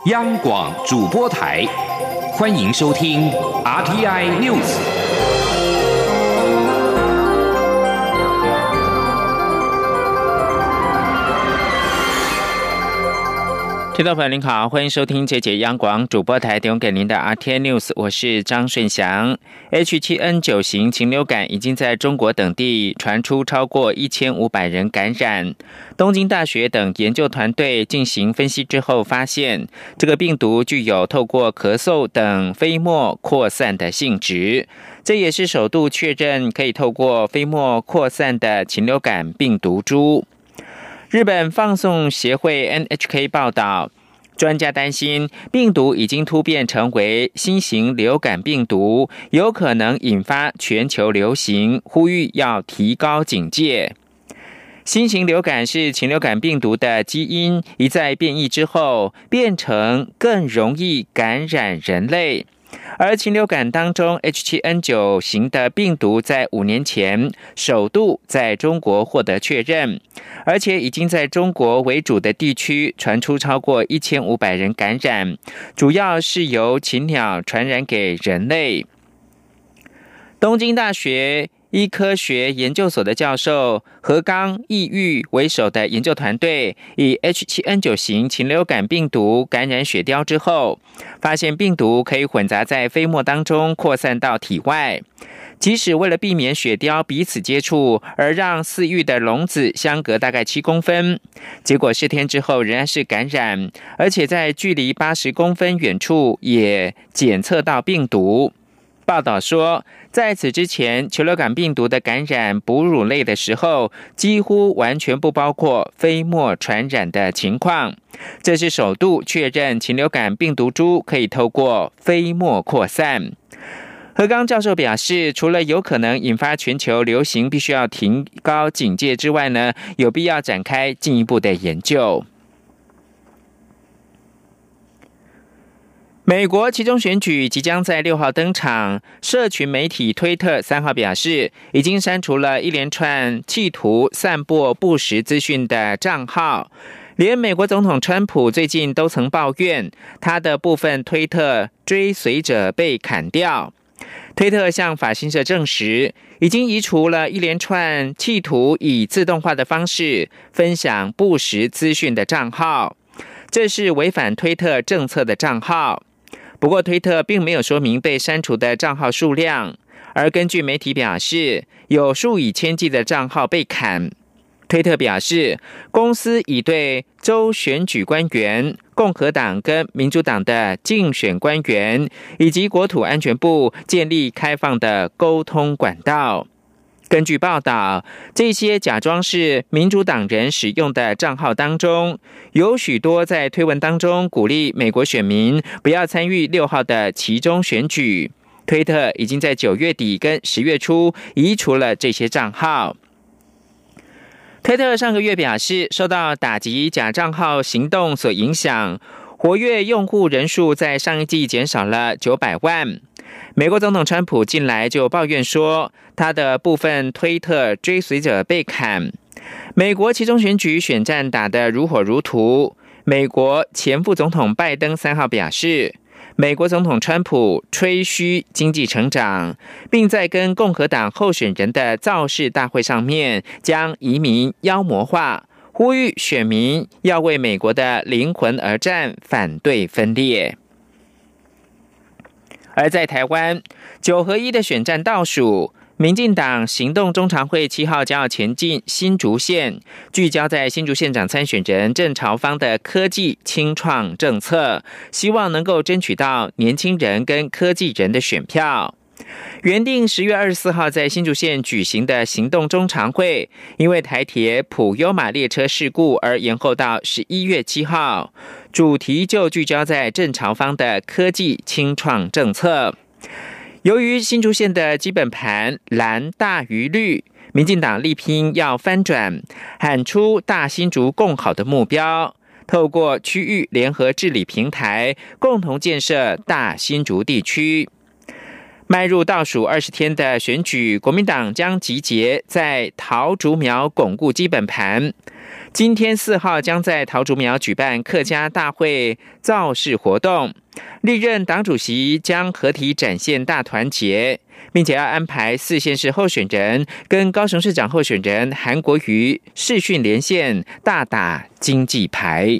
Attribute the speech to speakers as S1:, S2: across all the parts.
S1: 央广主播台，欢迎收听 RTI News。
S2: 听众朋友您好，欢迎收听这节央广主播台提供给您的 RTI News， 我是张顺祥。H7N9 型禽流感已经在中国等地传出超过1500人感染。东京大学等研究团队进行分析之后发现，这个病毒具有透过咳嗽等飞沫扩散的性质，这也是首度确认可以透过飞沫扩散的禽流感病毒株。日本放送协会 NHK 报道，专家担心病毒已经突变成为新型流感病毒，有可能引发全球流行，呼吁要提高警戒。新型流感是禽流感病毒的基因一再变异之后，变成更容易感染人类。而禽流感当中 H7N9 型的病毒在5年前首度在中国获得确认，而且已经在中国为主的地区传出超过1500人感染，主要是由禽鸟传染给人类。东京大学医科学研究所的教授河冈义裕为首的研究团队，以 H7N9 型禽流感病毒感染雪貂之后，发现病毒可以混杂在飞沫当中扩散到体外。即使为了避免雪貂彼此接触，而让饲育的笼子相隔大概7公分，结果10天之后仍然是感染，而且在距离80公分远处也检测到病毒。报道说，在此之前，禽流感病毒的感染哺乳类的时候，几乎完全不包括飞沫传染的情况。这是首度确认禽流感病毒株可以透过飞沫扩散。河冈教授表示，除了有可能引发全球流行，必须要提高警戒之外呢，有必要展开进一步的研究。美国期中选举即将在6号登场，社群媒体推特3号表示，已经删除了一连串企图散播不实资讯的账号。连美国总统川普最近都曾抱怨，他的部分推特追随者被砍掉。推特向法新社证实，已经移除了一连串企图以自动化的方式分享不实资讯的账号，这是违反推特政策的账号。不过推特并没有说明被删除的账号数量，而根据媒体表示，有数以千计的账号被砍。推特表示，公司已对州选举官员、共和党跟民主党的竞选官员以及国土安全部建立开放的沟通管道。根据报道，这些假装是民主党人使用的账号当中，有许多在推文当中鼓励美国选民不要参与6号的期中选举。推特已经在9月底跟10月初移除了这些账号。推特上个月表示，受到打击假账号行动所影响，活跃用户人数在上一季减少了900万。美国总统川普近来就抱怨说，他的部分推特追随者被砍。美国期中选举选战打得如火如荼。美国前副总统拜登3号表示，美国总统川普吹嘘经济成长，并在跟共和党候选人的造势大会上面将移民妖魔化，呼吁选民要为美国的灵魂而战，反对分裂。而在台湾9合1的选战倒数，民进党行动中常会7号将要前进新竹县，聚焦在新竹县长参选人郑朝方的科技青创政策，希望能够争取到年轻人跟科技人的选票。原定10月24号在新竹县举行的行动中常会，因为台铁普悠玛列车事故而延后到11月7号，主题就聚焦在郑朝方的科技青创政策。由于新竹县的基本盘蓝大于绿，民进党力拼要翻转，喊出大新竹共好的目标，透过区域联合治理平台，共同建设大新竹地区。迈入倒数20天的选举，国民党将集结在桃竹苗巩固基本盘。 今天4号将在桃竹苗举办客家大会造势活动，历任党主席将合体展现大团结，并且要安排4县市候选人跟高雄市长候选人韩国瑜视讯连线，大打经济牌。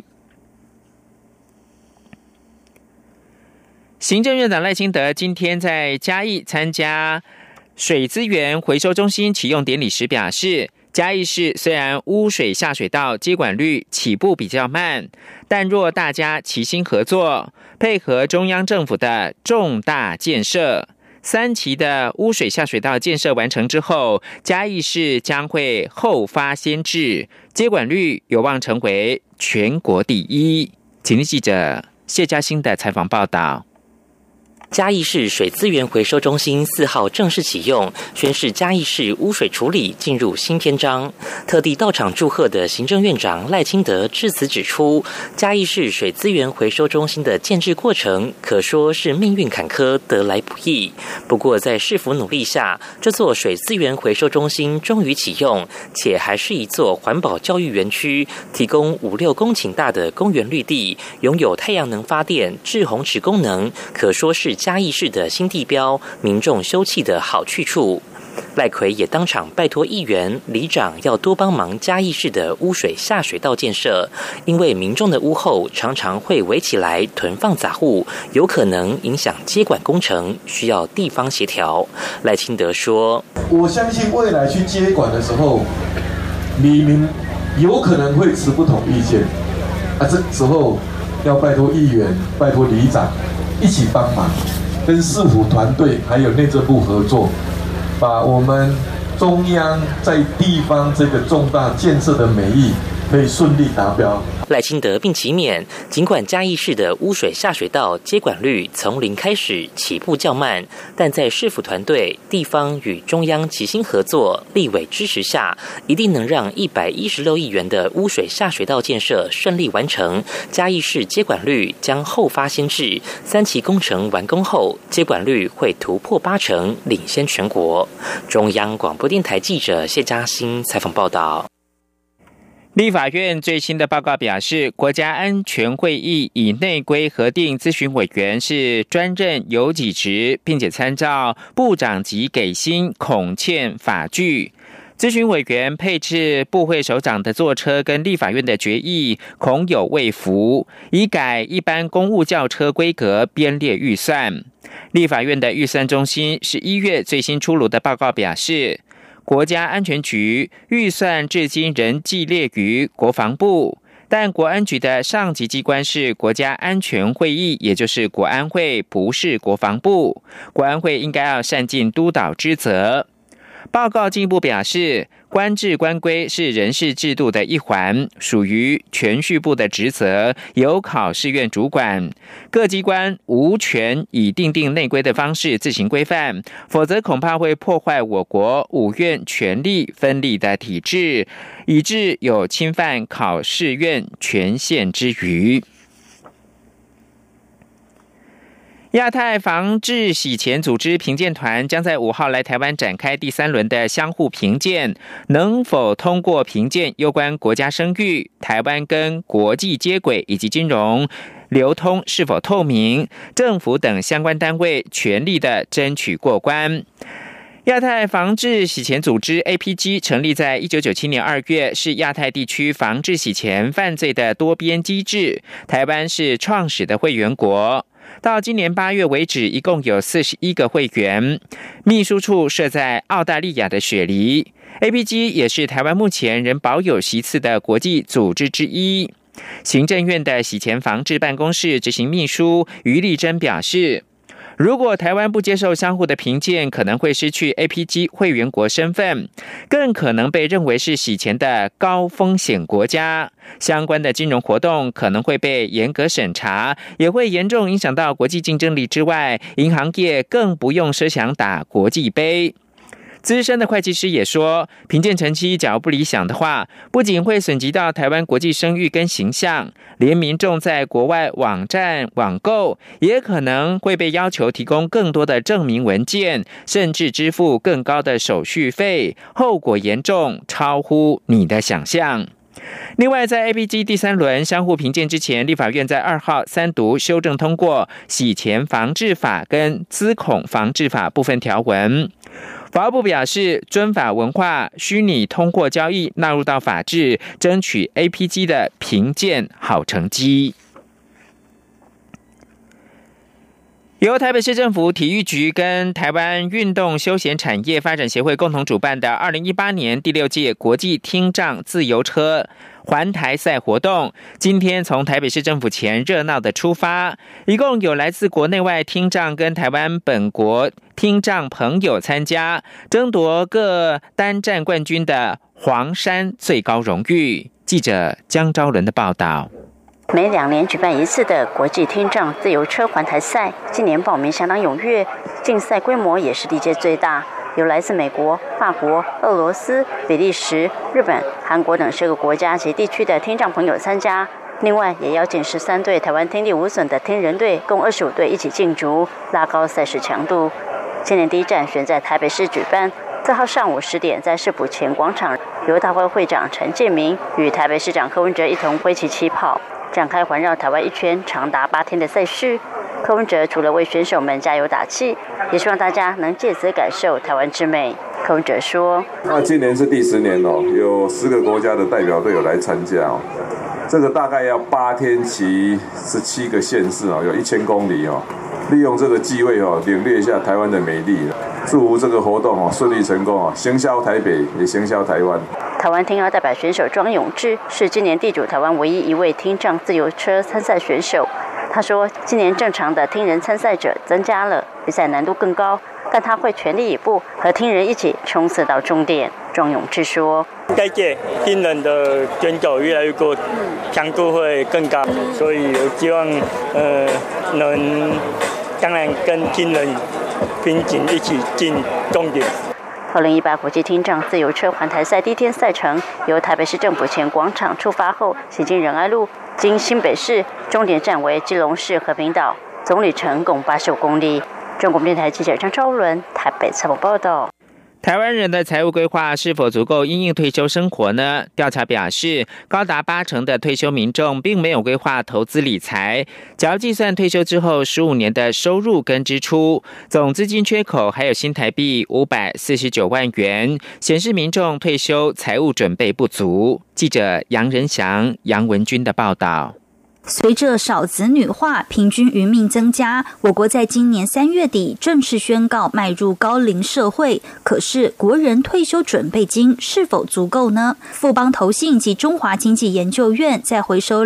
S2: 行政院长赖清德今天在嘉义参加水资源回收中心启用典礼时表示，嘉义市虽然污水下水道接管率起步比较慢，但若大家齐心合作，配合中央政府的重大建设，3期的污水下水道建设完成之后，嘉义市将会后发先至，接管率有望成为全国第一。请听记者谢嘉欣的采访报道。
S3: 嘉义市水资源回收中心4号正式启用，宣示嘉义市污水处理进入新篇章。特地到场祝贺的行政院长赖清德致辞指出，嘉义市水资源回收中心的建制过程可说是命运坎坷，得来不易。不过在市府努力下，这座水资源回收中心终于启用，且还是一座环保教育园区，提供5-6公顷大的公园绿地，拥有太阳能发电、滞洪池功能，可说是嘉义市的新地标，民众休憩的好去处。赖奎也当场拜托议员、里长要多帮忙嘉义市的污水下水道建设，因为民众的屋后常常会围起来囤放杂物，有可能影响接管工程，需要地方协调。赖清德说：“
S4: 我相信未来去接管的时候，里民有可能会持不同意见，这时候要拜托议员、拜托里长。”一起帮忙，跟市府团队还有内政部合作，把我们中央在地方这个重大建设的美意可以顺利达标。
S3: 赖清德并期勉，尽管嘉义市的污水下水道接管率从0开始起步较慢，但在市府团队、地方与中央齐心合作、立委支持下，一定能让116亿元的污水下水道建设顺利完成。嘉义市接管率将后发先至，3期工程完工后，接管率会突破80%，领先全国。中央广播电台记者谢嘉欣采访报道。
S2: 立法院最新的报告表示，国家安全会议以内规核定咨询委员是专任有给职，并且参照部长级给薪恐欠法据。咨询委员配置部会首长的座车跟立法院的决议恐有未符，以改一般公务轿车规格编列预算。立法院的预算中心11月最新出炉的报告表示，国家安全局预算至今仍记列于国防部，但国安局的上级机关是国家安全会议，也就是国安会，不是国防部。国安会应该要善尽督导之责。报告进一步表示，官制官规是人事制度的一环，属于铨叙部的职责，由考试院主管。各机关无权以订定内规的方式自行规范，否则恐怕会破坏我国五院权力分立的体制，以致有侵犯考试院权限之余。亚太防治洗钱组织评鉴团将在5号来台湾展开第3轮的相互评鉴，能否通过评鉴攸关国家声誉、台湾跟国际接轨以及金融流通是否透明，政府等相关单位全力的争取过关。亚太防治洗钱组织 APG 成立在1997年2月，是亚太地区防治洗钱犯罪的多边机制，台湾是创始的会员国。到今年8月为止，一共有41个会员，秘书处设在澳大利亚的雪梨。APG 也是台湾目前仍保有席次的国际组织之一。行政院的洗钱防治办公室执行秘书于丽珍表示，如果台湾不接受相互的评鉴，可能会失去 APG 会员国身份，更可能被认为是洗钱的高风险国家。相关的金融活动可能会被严格审查，也会严重影响到国际竞争力之外，银行业更不用设想打国际杯。资深的会计师也说，评鉴成绩假如不理想的话，不仅会损及到台湾国际声誉跟形象，连民众在国外网站网购也可能会被要求提供更多的证明文件，甚至支付更高的手续费，后果严重，超乎你的想象。 另外，在 APG 第3轮相互评鉴之前，立法院在2号3读修正通过洗钱防治法跟资恐防治法部分条文。法务部表示，遵法文化虚拟通货交易纳入到法制，争取 APG 的评鉴好成绩。由台北市政府体育局跟台湾运动休闲产业发展协会共同主办的2018年第6届国际听障自由车环台赛活动，今天从台北市政府前热闹的出发，一共有来自国内外听障跟台湾本国听障朋友参加，争夺各单站冠军的黄山最高荣誉。记者江昭伦的报道。
S5: 每2年举办一次的国际听障自由车环台赛，今年报名相当踊跃，竞赛规模也是历届最大，有来自美国、法国、俄罗斯、比利时、日本、韩国等10个国家及地区的听障朋友参加。另外，也邀请13队台湾听力无损的听人队，共25队一起竞逐，拉高赛事强度。今年第一站选在台北市举办，4号上午10点，在市府前广场，由大会会长陈建明与台北市长柯文哲一同挥旗起跑，展开环绕台湾一圈长达8天的赛事。柯文哲除了为选手们加油打气，也希望大家能借此感受台湾之美。柯文哲说：“
S6: 今年是第10年哦，有10个国家的代表队有来参加哦。这个大概要8天骑17个县市哦，有1000公里哦。利用这个机会哦，领略一下台湾的美丽。祝福这个活动哦顺利成功哦，行销台北也行销台湾。”
S5: 台湾听障代表选手庄永志是今年地主台湾唯一一位听障自由车参赛选手。他说，今年正常的听人参赛者增加了，比赛难度更高，但他会全力以赴，和听人一起冲刺到终点。庄永志说：“
S7: 该届听人的选手越来越多，强度会更高，所以我希望能当然跟听人并肩一起进终点。
S5: ”2018国际听障自由车环台赛第一天赛程由台北市政府前广场出发后，行经仁爱路，经新北市，终点站为基隆市和平岛，总里程共85公里。中国电台记者张昭伦台北采访报道。
S2: 台湾人的财务规划是否足够因应退休生活呢？调查表示，高达80%的退休民众并没有规划投资理财。只要计算退休之后15年的收入跟支出，总资金缺口还有新台币549万元，显示民众退休财务准备不足。记者杨仁祥、杨文君的报道。
S8: 随着少子女化，平均余命增加，我国在今年3月底正式宣告迈入高龄社会。可是，国人退休准备金是否足够呢？富邦投信及中华经济研究院在回收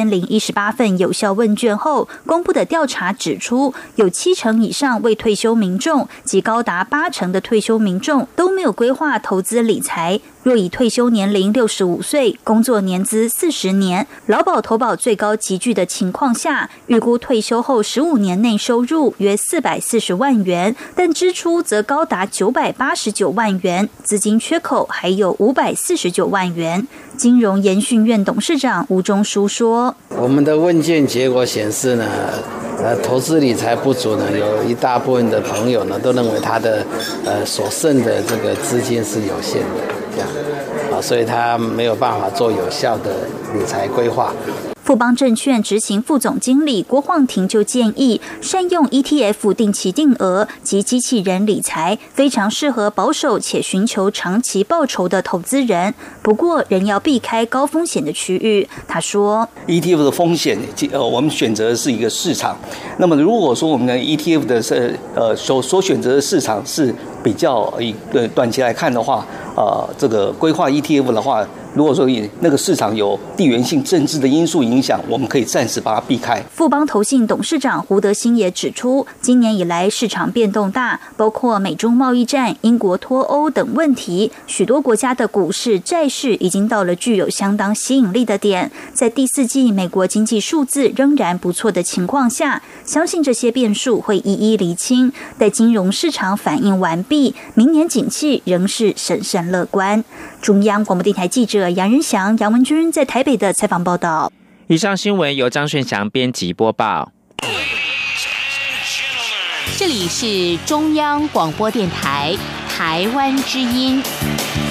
S8: 2018份有效问卷后，公布的调查指出，有70%以上未退休民众及高达80%的退休民众都没有规划投资理财。若以退休年龄65岁，工作年资40年，劳保投保最高集聚的情况下，预估退休后15年内收入约440万元，但支出则高达989万元，资金缺口还有549万元。金融研训院董事长吴中书说：“
S9: 我们的问卷结果显示呢，投资理财不足呢，有一大部分的朋友呢都认为他的所剩的这个资金是有限的，这样所以他没有办法做有效的理财规划。”
S8: 富邦证券执行副总经理郭晃庭就建议，善用 ETF 定期定额及机器人理财，非常适合保守且寻求长期报酬的投资人。不过，仍要避开高风险的区域。他说
S10: ，ETF 的风险，我们选择的是一个市场。那么，如果说我们的 ETF 的所选择的市场是比较短期来看的话，这个规划 ETF 的话，如果说那个市场有地缘性政治的因素影响，我们可以暂时把它避开。
S8: 富邦投信董事长胡德兴也指出，今年以来市场变动大，包括美中贸易战、英国脱欧等问题，许多国家的股市、债市已经到了具有相当吸引力的点。在第4季美国经济数字仍然不错的情况下，相信这些变数会一一厘清。待金融市场反应完毕，明年景气仍是审慎乐观。中央广播电台记者杨仁祥、杨文君在台北的采访报道。
S2: 以上新闻由张顺祥编辑播报。
S11: 这里是中央广播电台台湾之音。